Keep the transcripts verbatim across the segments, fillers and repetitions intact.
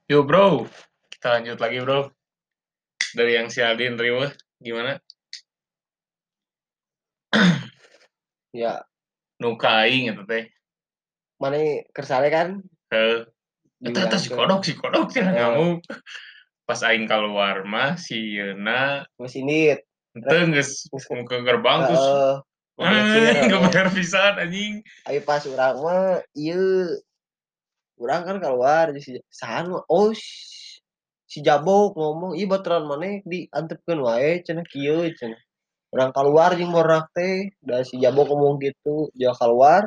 Yo bro, kita lanjut lagi bro. Dari yang si Aldin Riwa, gimana? Ya, Nuka aing eta teh. mana kersane kan Heuh. Eta eta si diurangkeun. kodok si kodok cenah Heeh, ngamuk. Pas aing keluar mah si Yeuna geus indit. Rek henteu geus geus muka gerbang terus heeh, ngeblecir eh enggak heeh. bayar pisan anjing. Aya pas urang mah ieu, urang kan keluar di si saha nu oh si si Jabok ngomong, "Ih baturan maneh diantepkeun wae cenah kieu," cenah. Urang kaluar jeung barudak teh, da si Jabok ngomong gitu, jauh keluar,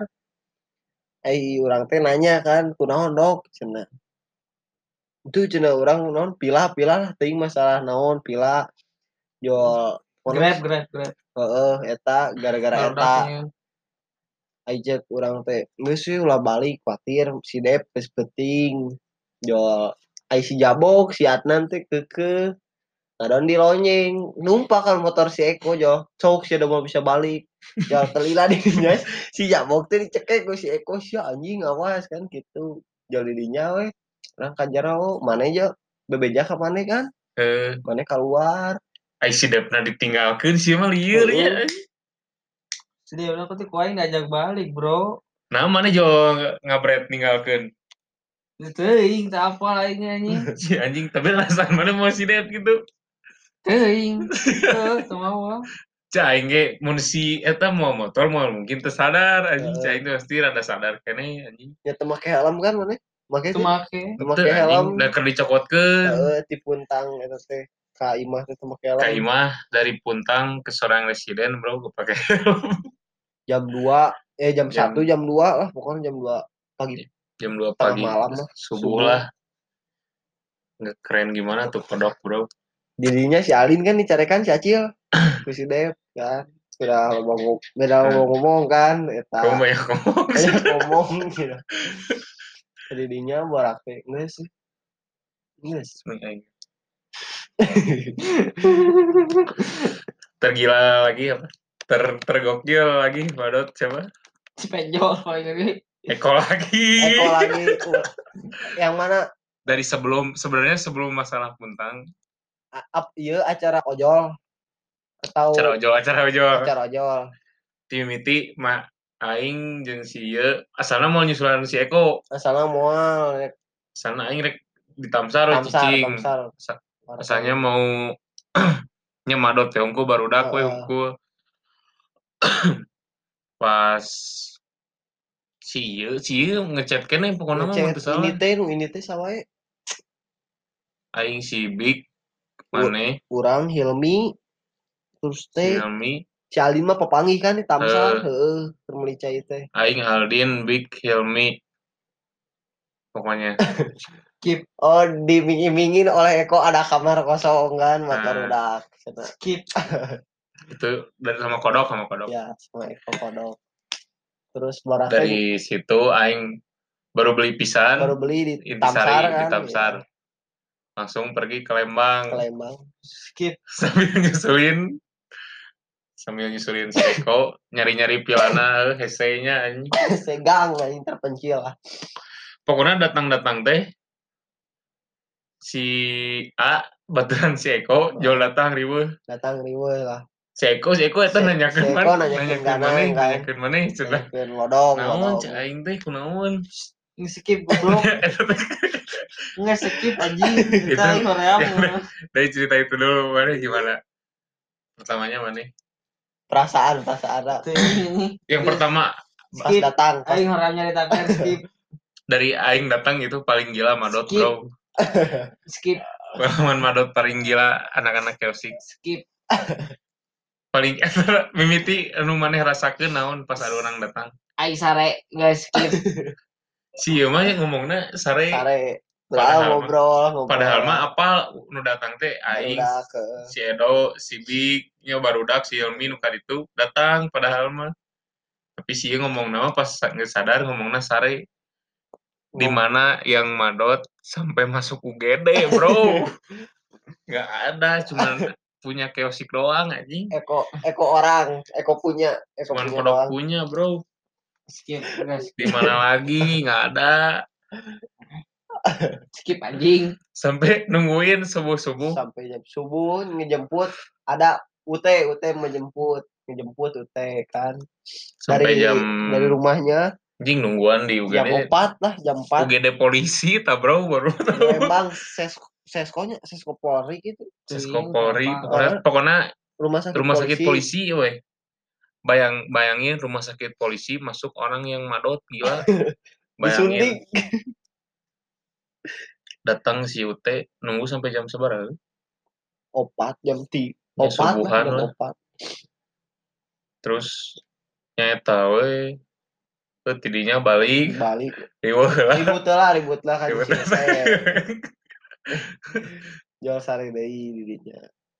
ai urang teh nanya kan, "Kunaon dok?" cenah. Itu cenah urang naon pilah-pilah teuing masalah naon pila jual ponos Grab, grab, grab. heeh eta gara-gara eta Barodaknya. ajak urang teh geus we ulah balik kuatir si Dep geus penting jual ai si Jabok si Adnan teh keukeuh ngadon di lonyeng numpak kan motor si Eko jo sok si udah mau bisa balik jual telila di dinya si Jabok teh dicekek ku si Eko sia anjing awas kan gitu jual di dinya we urang kajara oh maneh jo bebeja ka maneh kan Heuh, maneh keluar ai si Depna ditinggalkeun si mah lieur heeh nya. Sedih udah aku tuh kuaing ngajak balik, bro. Nah, mana jo ngabret ninggalkeun Teuing, tak apa lainnya anjing. si anjing, tapi rasaan mana mau si Dep gitu. Teuing. Teu, teu mau ah. Cah aing ge mun si eta mau motor mau mungkin teu sadar anjing, cah heeh aing teh pasti rada sadar keneh anjing. nya teu make helm kan maneh make Teu sih make. teu Henteu make anjing, helm da keur dicokotkeun. heeh ti puntang eta teh ka imah teh teu make Ka helm imah dari Puntang ke Sorang Residen bro, gue pakai helm. jam dua eh jam satu jam jam dua lah pokoknya jam dua pagi jam dua tengah pagi malam lah subuh subuh lah. Nggak keren gimana tuh kodok bro. dirinya si Alin kan dicarekan si Acil ku si Dev kan sudah ngomong beda Nah, ngomong kan eta kamu banyak ngomong sih. banyak ngomong gitu dirinya borak teh geus sih geus Tergila lagi apa? Ter tergokil lagi Badot siapa? Si penjol paling gede. Eko lagi. Eko lagi yang mana Dari sebelum sebenarnya sebelum masalah Puntang, up iya acara ojol acara atau ojol acara ojol. acara ojol Timiti mah aing jeung si ieu asalna mau nyusulan si Eko. asalnya mual Sana aing rek ditamsar we tamsar cicing. tamsar Asa- warteg Asalnya mau nyemadot teh unggul barudak we heeh unggul. Pas si ieu si ieu ngechat keneh pokona mah mun ngechat teu ini salah. teh nu ini teh sawae Aing si Big U- maneh urang Hilmi terus si teh Helmi si Alin mah pepanggih kan di Tamsar eh heeh keur meuli cai teh aing Aldin Big Helmi pokoknya. Skip, oh dimingin-mingin oleh Eko ada kamar kosong kan motor Nah, udah cenah skip. itu dari sama kodok sama kodok. ya sama Eko kodok terus baraknya Dari situ aing baru beli baru pisan beli di Tamsar Intisari di kan ya Tamsar. Langsung pergi ke ke Lembang Lembang Skip. sambil nyusulin sambil nyusulin si Eko nyari-nyari pilana hesenya anjing. segang anjing terpencil lah Pokoknya datang-datang teh si A baturan si Eko jual datang ribu datang riweuh lah si Eko si Eko eta Se nanyakeun man Seko nanyakeun nanyakeun maneh ganang kan nanyakeun maneh cenah nanyakeun lodong naon lodong cek aing teh kunaon. Skip goblok. Nggak skip anjing. Itu Kita ini hoream. yang dari cerita itu dulu maneh gimana pertamanya maneh perasaan perasaan Teuing. yang pertama pas Skip. datang pas Aing hoream nyaritakeun skip. dari aing datang itu paling gila Madot Skip. bro. Skip. Pengalaman Madot paling gila anak-anak Kelsey Skip. paling mimiti anu maneh rasakeun naon pas ada orang datang Aing sare nggak skip. si ieu mah ngomongna sare sare udah padahal mah ngobrol ngobrol padahal mah apal nu datang teh aing barudak ke si Edo si Big nya barudak si Helmi nu kaditu datang padahal mah tapi si ieu ngomong nama pas geus sadar ngomongna sare di ngom mana yang Madot sampai masuk U G D bro. Nggak ada cuman punya keosik doang anjing. Eko Eko orang Eko punya Eko Cuman punya kodok doang punya bro. Skip. Nggak Di skip. mana lagi nggak ada. Skip anjing. Sampai nungguin subuh-subuh. Sampai jam subuh ngejemput, ada U T, U T menjemput, ngejemput U T kan. Sampai Dari jam dari rumahnya anjing nungguan di U G jam D. empat lah, jam U empat. G D polisi tak bro baru Ya emang ses seskonya sesko Polri gitu. Sesko Teuing, Polri apa. pokoknya Eh, pokoknya rumah sakit rumah sakit polisi. polisi weh. Bayang bayangin rumah sakit polisi masuk orang yang madot gila. Bayangin Disuntik. datang si U T nunggu sampai jam seberapa? Opat jam ti. Ya, Opat lah, subuhan jam lah. opat. Terus nyata we tuh tidinya balik Balik. riweuh lah. Ribut lah, ribut lah kan Ribut si lah. teh. Jual sari deui didinya.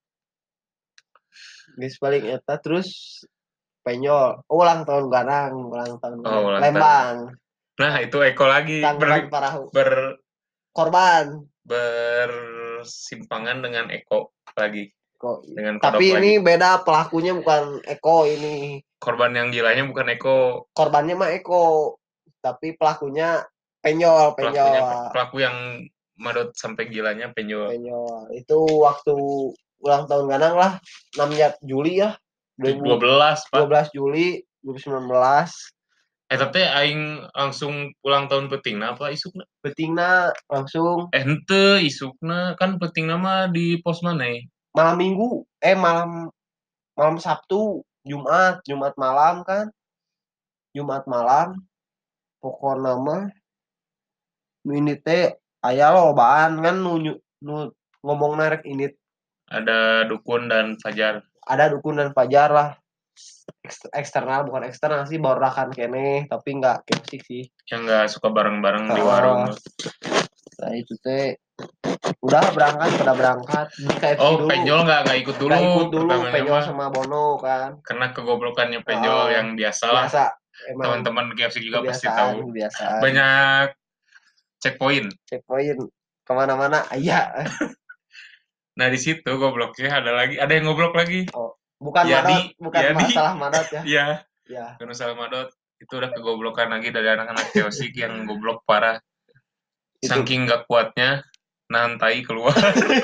Geus balik eta terus penyol. Oh, ulang tahun Garang, ulang tahun Oh, Garang. ulang Lembang. Nah, itu Eko lagi Tanggapan ber, para ber korban. bersimpangan dengan Eko lagi. Kok. Dengan kodok Tapi lagi. ini beda, pelakunya bukan Eko ini. Korban yang gilanya bukan Eko. Korbannya mah Eko, tapi pelakunya penyol, Pelakunya penyol. pelaku yang madot sampai gilanya penyol. Penyol. Itu waktu ulang tahun Ganang lah, enam Juli ya. dua belas, Pak. dua belas Juli dua ribu sembilan belas. Eh tapi aing langsung ulang tahun petingna apa isukna? Betingna langsung Eh henteu isukna kan petingna mah di pos maneh. malam Minggu, eh malam malam Sabtu, Jumat, Jumat malam kan. Jumat malam. Pokokna mah ini teh aya lobaan kan nu, nu ngomong narek ini. Ada Dukun dan Fajar. Ada Dukun dan Fajar lah. Eksternal bukan eksternal sih, baurakan kene tapi nggak kiosik sih. Yang nggak suka bareng-bareng di Ah. warung. Nah itu teh udah berangkat pada berangkat di K F C Oh dulu. Penjol nggak nggak ikut dulu. Nggak ikut dulu pertamanya Penjol mah. sama Bono kan. Karena kegoblokannya Penjol Ah, yang biasa lah. Biasa. Emang Teman-teman K F C juga pasti kebiasaan, tahu. kebiasaan. Banyak checkpoint. Checkpoint kemana-mana iya. Nah di situ gobloknya ada lagi, ada yang goblok lagi. Oh, bukan Yadi, madot, bukan Yadi. masalah madot ya. Iya. Ya. Bukan masalah madot. Itu udah kegoblokan lagi dari anak-anak kiosik yang goblok parah. Itu. Saking gak kuatnya nahan tai keluar.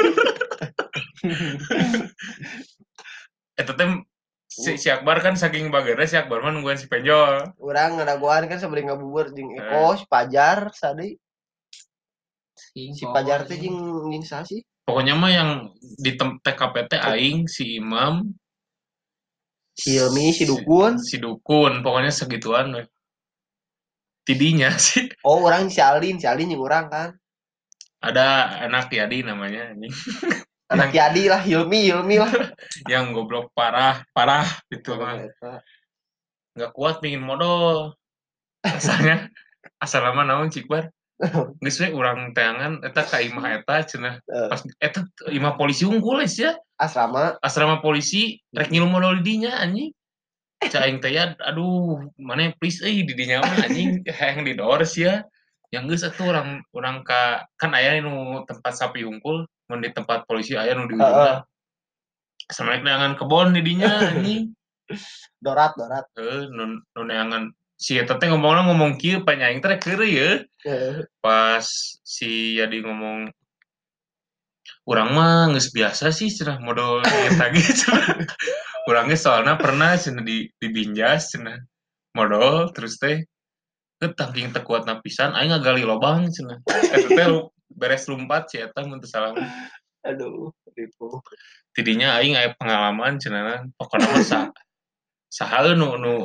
Eta teh si, si Akbar kan saking bagana si Akbar mah nungguin si Penjol. Urang ngadaguan kan sebeli ngabubur jeung Eko, si Pajar, sadi. Si Pajar teh jeung jeung sa sih? Pokoknya mah yang di T K P T aing si Imam, si Hilmi, si Dukun, si, si Dukun, pokoknya segituan weh. Tidinya sih. Oh, orang si Alin, si Alin jeung urang kan. Ada anak Yadi namanya anjing. Anak Yadi lah, Hilmi, Hilmi lah. Yang goblok parah, parah gitu mah. Enggak kuat pingin modal. Asalnya asal nama naon Cikbar. Geus we urang teangan eta ka imah eta cenah. Pas eta imah polisi unggul ya. Asrama. Asrama polisi rek ngilu modal di dinya anjing. Cak aing teh ya aduh mana please euy di dinya mah anjing hayang didors ya. Yang geus atuh urang urang ka kan aya nu tempat sapi unggul mun di tempat polisi aya nu di ujungna. Sama neangan kebon di dinya anjing. Dorat, dorat. Heeh, nu nu neangan si eta teh ngomongna ngomong kieu pa nyaing teh keur ye. Pas si Yadi ngomong urang mah geus biasa sih cenah modal eta gitu. Urang ge soalna pernah cenah di dibinjas cenah modal terus teh teu tangking teu kuatna pisan aing ngagali lobang cenah. Eta teh beres lumpat si eta mun teu salah. Aduh, ribu. Tidinya aing aya pengalaman cenah pokona mah sa saha nu nu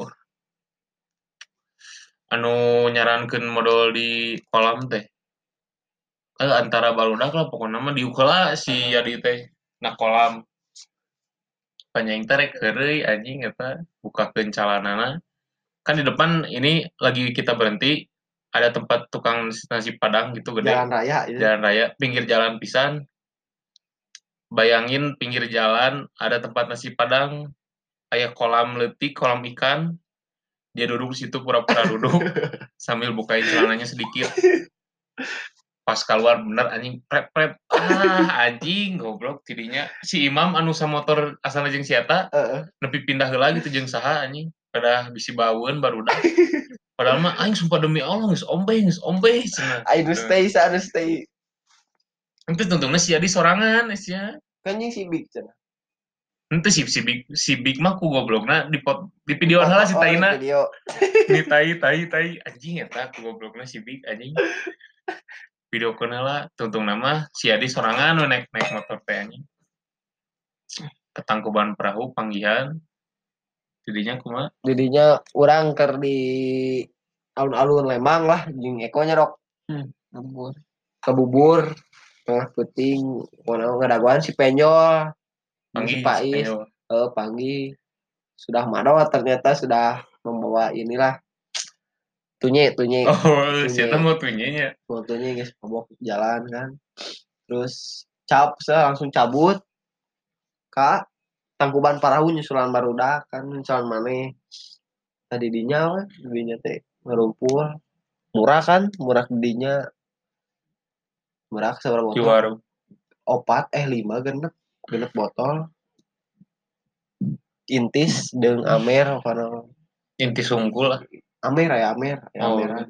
anu nyarankeun modal di kolam teh. Eh antara barudak lah pokoknya mah diukeula si Yadi teh na kolam. Panyaing teh rek heureuy anjing eta bukakeun calanana. Kan di depan ini lagi kita berhenti ada tempat tukang nasi Padang gitu gede. Jalan raya itu. Jalan raya pinggir jalan pisan. Bayangin pinggir jalan ada tempat nasi Padang, aya kolam leutik, kolam ikan. Dia duduk di situ pura-pura duduk sambil bukain celananya sedikit. Pas keluar bener anjing prep-prep. Ah anjing goblok tidinya. Si Imam anu sa motor asalna jeung si eta, Heeh. nepi pindah heula gitu jeung saha anjing. Pada bisi baweun barudak. Padahal mah aing sumpah demi Allah geus ombe geus ombe cenah. Aing nu stay sana stay. Henteu tuntungna si Adi sorangan sia. Kan yang si Big cenah. Henteu si si Big si Big mah ku goblokna di pot, di video heula si taina. Video. Ni tai tai tai anjing eta ku goblokna si Big anjing. Video heula tuntungna mah si Adi sorangan nu naik naik motor teh anjing. Ketangkuban perahu panggihan. Didinya kumaha? Didinya urang keur di alun-alun Lembang lah jeung Eko nya rok. Hmm, ngabur. Kebubur tengah puting pokoknya ngadaguan si Penjol Panggil si Pais eh Panggi sudah madot ternyata sudah membawa inilah tunye tunye oh siapa mau tunyenya mau tunye guys mabok jalan kan terus cap saya langsung cabut kak Tangkuban Parahu nyusulan barudak kan nyusulan maneh tadi dinya weh dinya teh ngerumpul murah kan murah dinya murah seberapa botol? Juara. Opat eh lima genep genep botol. Intis dengan Amer apa Intis unggul lah. Amer ya Amer ya oh. Ameran.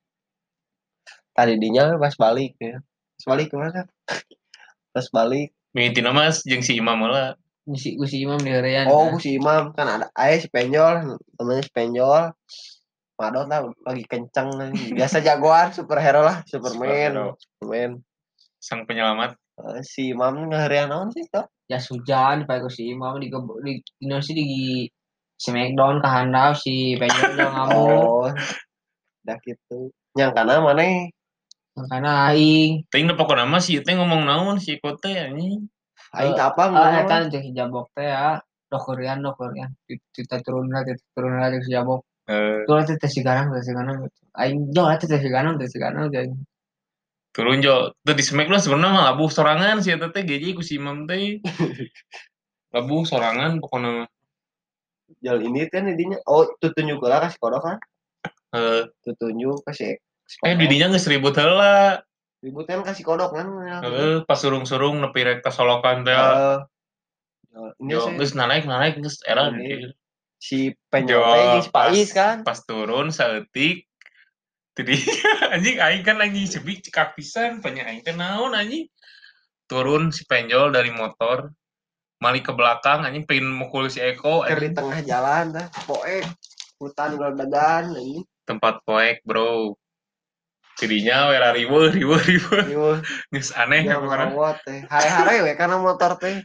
Tadi dinya pas balik ya. Pas balik kemana? Pas balik. Mintina mas jeung si Imam lah. Si si Imam di harian. Oh kan? Si Imam kan ada ayah si Penjol namanya si Penjol. Madot lah lagi kenceng nih. Biasa jagoan superhero lah Superman. Superman. Sang penyelamat. Uh, si Imam ngeharian naon sih toh? Ya hujan pakai ku si Imam di di di di, di Smackdown ke handap si Penjol udah ngamuk. Oh. Udah gitu. Yang kana maneh? Yang kana aing. Teuing pokona mah si teh ngomong naon si Kote anjing. Aing apa ngomong? Ah eta jeung si Jabok teh ya. Dokurian dokurian. Kita turun lah kita turun lah si Jabok. Eh. Tuh teh teh si garang teh si garang. Aing jo teh teh si garang teh si garang jeung turun jo tuh di Smackdown sebenarnya mah labuh sorangan si eta teh G J ku si Imam teh. Labuh sorangan pokona Jal ini kan didinya oh tutunjuk lah kasih kodok kan heeh uh, tutunjuk kasih eh didinya geus ribut heula ribut kan kasih kodok kan heeh uh, pas surung-surung nepi rek kasolokan teh heeh ini jo geus naik naik geus era si Penjol teh si Pais kan pas turun saeutik jadi anjing aing kan lagi sebik cekak pisan tanya aing teh naon anjing turun si Penjol dari motor mali ke belakang anjing pengen mukul si Eko anjing di tengah jalan tah poek hutan galedagan anjing tempat poek bro jadinya wera riweuh riweuh riweuh geus aneh ya pokona teh hare-hare we karena motor teh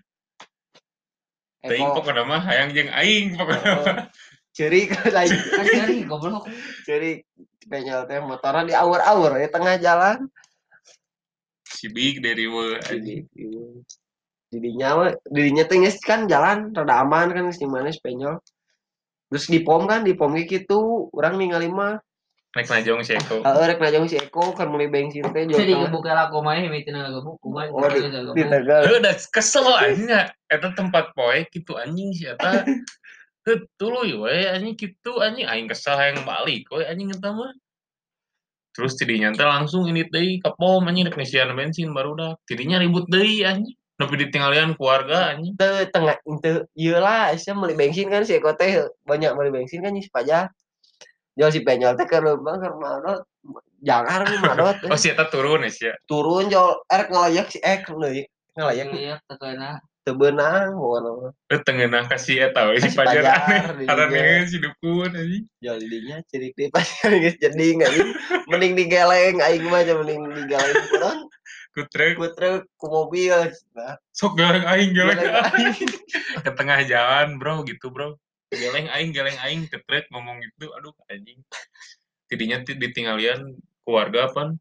teuing pokona mah hayang jeung aing pokona ceurik lain kan ceurik goblok ceurik Penjol teh motorna di awur-awur di tengah jalan si Big dari riweuh anjing didinya didinya teh geus kan jalan rada aman kan geus di mana Penjol terus di pom kan di pom gitu urang ningali mah rek najong si Eko heeh rek najong si Eko kan mulai bensin teh jadi ngebuka laku mah mitina ngegebuk kumaha oh di Tegal heuh da kesel anjing eta tempat poek kitu anjing si eta heuh tuluy we anjing kitu anjing aing kesel hayang balik we anjing eta mah terus tidinya teh langsung ini deui ka pom anjing rek ngisian bensin barudak tidinya ribut deui anjing nepi ditinggalian keluarga anjing teu tengah teu ieu lah sia meuli bensin kan si Eko teh banyak meuli bensin kan si Pajak jual si Penjol teh keur leumbang keur madot jangar nu madot oh si eta turun sia turun jual erek ngalayak si ek deui ngalayak teu keuna teu beunang pokona teu tengeunah ka si eta we si Pajar aneh haraneueun si dukun anjing jual dinya cirik deui Pajar geus jeding anjing mending digeleng aing mah mending digeleng kurang ku truk ku truk ku mobil nah sok geleng aing geleng aing ke tengah jalan bro gitu bro geleng aing geleng aing ke truk ngomong gitu aduh anjing tidinya ditinggalian keluarga apa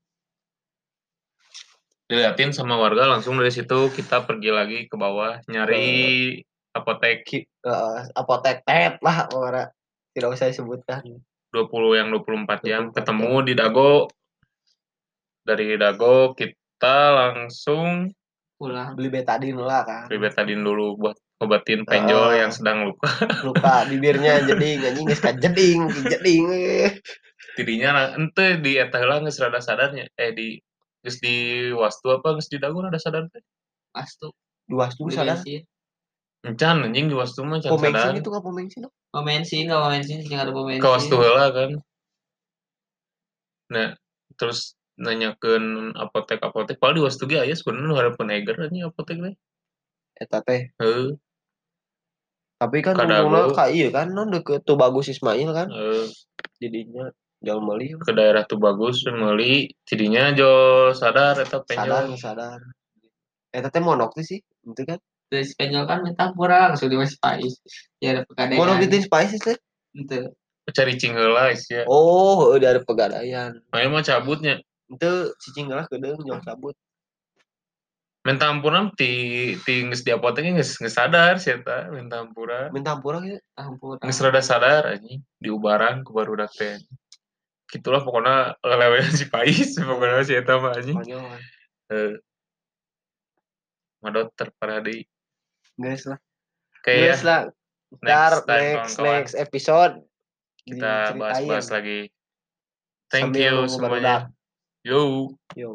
diliatin sama warga langsung dari situ kita pergi lagi ke bawah nyari uh, apotek uh, apotek tet lah orang tidak usah disebutkan dua puluh yang dua puluh empat jam ketemu di Dago dari Dago kita langsung pulang beli betadin lah kan beli betadin dulu buat obatin Penjol uh, yang sedang luka luka bibirnya jeding anjing geus ka jeding jeding tidinya ente di eta heula geus rada sadarnya eh di geus di Wastu apa geus di Dago rada sadar teh Wastu di Wastu sadar encan anjing di Wastu mah can sadar itu ka pom bensin pom bensin ka pom bensin sing ada pom bensin ka Wastu heula kan Nah, terus nanyakeun apotek-apotek padahal di Wastu ge aya sebenarnya nu hareupeun eger anjing apotek teh. Eta teh. Heuh. Tapi kan Kadago. ngomongna ka ieu kan non deket Tubagus Ismail kan. Heuh. Didinya jauh meuli. Ke daerah Tubagus meuli tidinya jo sadar eta Sadar penjol. sadar. Eta teh monok teh sih, itu kan. Terus penjol kan minta kurang sudah masih Pais. Ya ada pegadaian. Monok itu Spices teh. Itu. Cari cingheula lah sia. Oh, heuh dari pegadaian. Aya mah cabutnya. Itu cicing lah kedeung jauh cabut. Minta ampuran ti ti geus di apotek geus geus sadar si eta minta ampura. Minta ampura gitu. Ampun. Geus rada sadar anjing diubaran ku barudak teh. Gitulah pokoknya lelewean si Pais pokoknya si eta mah anjing. Heeh. Madot terparah deui. Guys lah. Kayak Guys lah. Ntar next time, next kawan-kawan. next episode Kita diceritain. bahas-bahas lagi. Thank Sambil you nunggu semuanya. barudak. Yo. Yo.